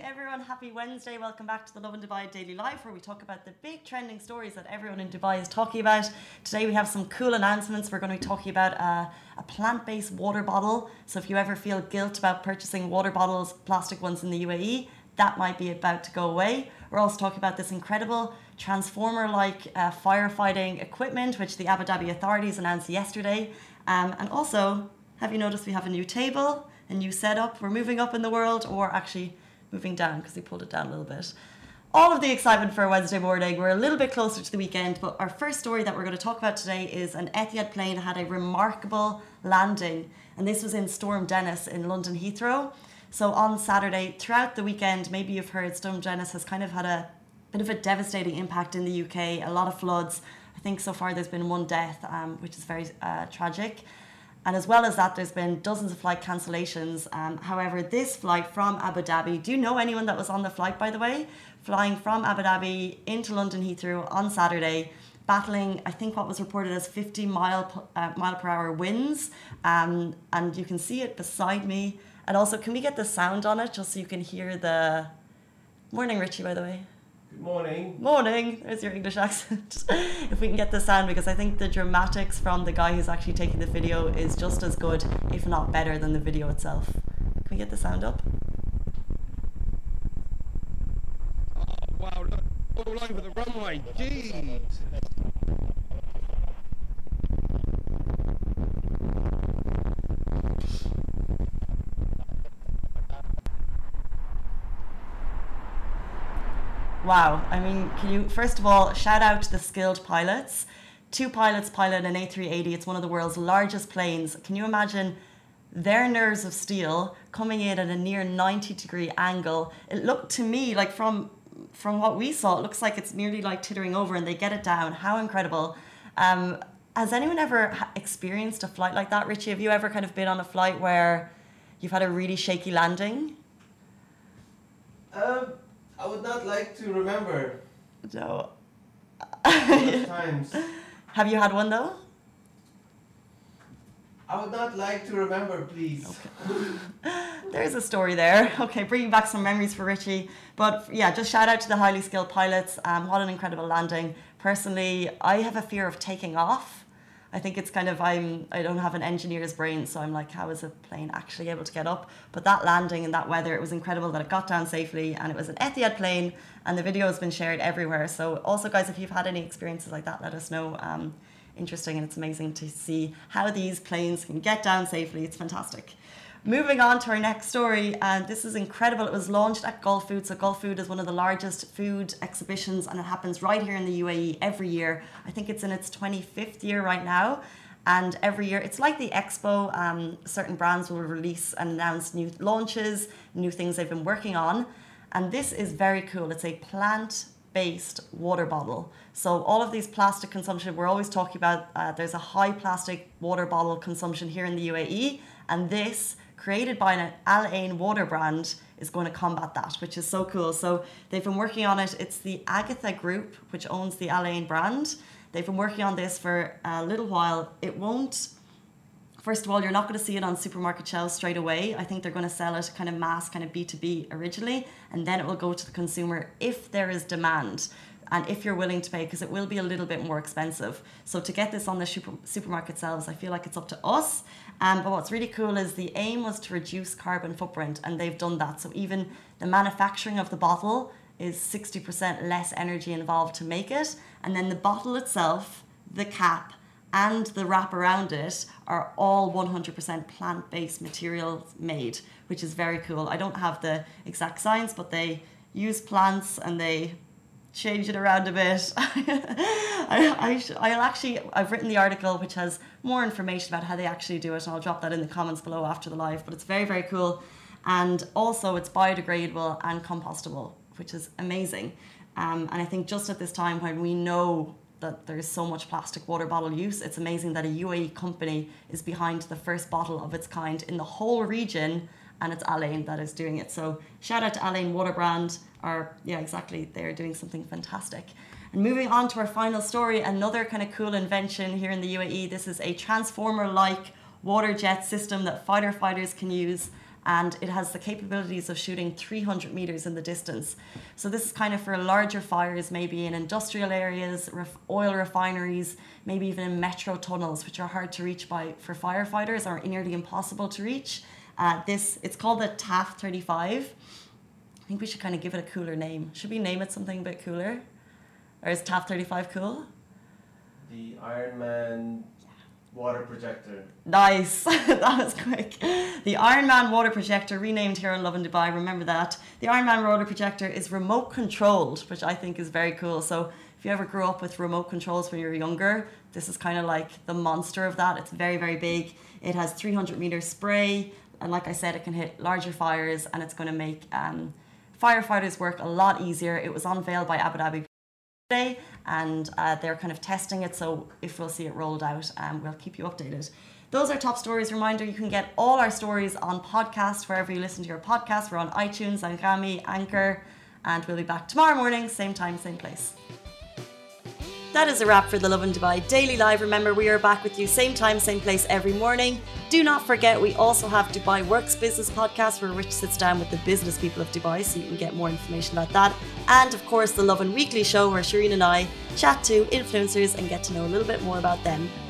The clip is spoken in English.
everyone, happy Wednesday. Welcome back to the Lovin Dubai Daily Life, where we talk about the big trending stories that everyone in Dubai is talking about. Today we have some cool announcements. We're going to be talking about a plant-based water bottle. So if you ever feel guilt about purchasing water bottles, plastic ones in the UAE, that might be about to go away. We're also talking about this incredible transformer-like firefighting equipment, which the Abu Dhabi authorities announced yesterday. And also, have you noticed we have a new table, a new setup? We're moving up in the world, or actually moving down because we pulled it down a little bit. All of the excitement for a Wednesday morning. We're a little bit closer to the weekend, but our first story that we're going to talk about today is an Etihad plane had a remarkable landing, and this was in Storm Dennis in London Heathrow. So on Saturday, throughout the weekend, maybe you've heard Storm Dennis has kind of had a bit of a devastating impact in the UK, a lot of floods. I think so far there's been one death, which is very tragic. And as well as that, there's been dozens of flight cancellations. However, this flight from Abu Dhabi, do you know anyone that was on the flight, by the way? Flying from Abu Dhabi into London Heathrow on Saturday, battling, I think what was reported as 50 mile per hour winds. And you can see it beside me. And also, can we get the sound on it just so you can hear the... Morning, Richie, by the way. Good morning. Morning. There's your English accent. If we can get the sound, because I think the dramatics from the guy who's actually taking the video is just as good, if not better, than the video itself. Can we get the sound up? Oh, wow, look, all over the runway. Jeez. Wow, I mean, can you, first of all, shout out to the skilled pilots. 2 pilots pilot an A380. It's one of the world's largest planes. Can you imagine their nerves of steel coming in at a near 90-degree angle? It looked to me like from what we saw, it looks like it's nearly like tittering over, and they get it down. How incredible. Has anyone ever experienced a flight like that? Richie, have you ever kind of been on a flight where you've had a really shaky landing? I would not like to remember No. those times. Have you had one though? I would not like to remember, please. Okay. There's a story there. Okay, bringing back some memories for Richie. But yeah, just shout out to the highly skilled pilots. What an incredible landing. Personally, I have a fear of taking off. I think it's kind of, I don't have an engineer's brain, so I'm like, how is a plane actually able to get up? But that landing in that weather, it was incredible that it got down safely, and it was an Etihad plane, and the video has been shared everywhere. So also, guys, if you've had any experiences like that, let us know. Interesting, and it's amazing to see how these planes can get down safely. It's fantastic. Moving on to our next story, and this is incredible. It was launched at Gulfood. So Gulfood is one of the largest food exhibitions, and it happens right here in the UAE every year. I think it's in its 25th year right now. And every year, it's like the expo. Certain brands will release and announce new launches, new things they've been working on. And this is very cool. It's a plant-based water bottle. So all of these plastic consumption, we're always talking about, there's a high plastic water bottle consumption here in the UAE. And this, created by an Al Ain water brand, is going to combat that, which is so cool. So they've been working on it. It's the Agatha Group, which owns the Al Ain brand. They've been working on this for a little while. It won't, first of all, you're not going to see it on supermarket shelves straight away. I think they're going to sell it kind of mass, kind of B2B originally, and then it will go to the consumer if there is demand. And if you're willing to pay, because it will be a little bit more expensive. So to get this on the supermarket shelves, I feel like it's up to us. But what's really cool is the aim was to reduce carbon footprint, and they've done that. So even the manufacturing of the bottle is 60% less energy involved to make it. And then the bottle itself, the cap, and the wrap around it are all 100% plant-based materials made, which is very cool. I don't have the exact science, but they use plants and they change it around a bit. I've written the article which has more information about how they actually do it, and I'll drop that in the comments below after the live, but it's very, very cool. And also it's biodegradable and compostable, which is amazing. And I think just at this time when we know that there's so much plastic water bottle use, it's amazing that a UAE company is behind the first bottle of its kind in the whole region, and it's Al Ain that is doing it. So shout out to Al Ain water brand, or yeah, exactly, they're doing something fantastic. And moving on to our final story, another kind of cool invention here in the UAE. This is a transformer-like water jet system that fighter fighters can use. and it has the capabilities of shooting 300 meters in the distance. So this is kind of for larger fires, maybe in industrial areas, oil refineries, maybe even in metro tunnels, which are hard to reach for firefighters or nearly impossible to reach. It's called the TAF 35. I think we should kind of give it a cooler name. Should we name it something a bit cooler? Or is TAF 35 cool? The Ironman water projector. Nice. That was quick. The Ironman water projector, renamed here in Lovin Dubai. Remember that. The Ironman water projector is remote controlled, which I think is very cool. So if you ever grew up with remote controls when you were younger, this is kind of like the monster of that. It's very, very big. It has 300 meter spray. And like I said, it can hit larger fires, and it's going to make firefighters work a lot easier. It was unveiled by Abu Dhabi today, and they're kind of testing it. So if we'll see it rolled out, we'll keep you updated. Those are top stories. Reminder, you can get all our stories on podcast, wherever you listen to your podcast. We're on iTunes, Anghami, Anchor, and we'll be back tomorrow morning, same time, same place. That is a wrap for the Lovin Dubai Daily Live. Remember, we are back with you same time, same place every morning. Do not forget, we also have Dubai Works Business Podcast, where Rich sits down with the business people of Dubai, so you can get more information about that. And of course, the Lovin Weekly Show, where Shireen and I chat to influencers and get to know a little bit more about them.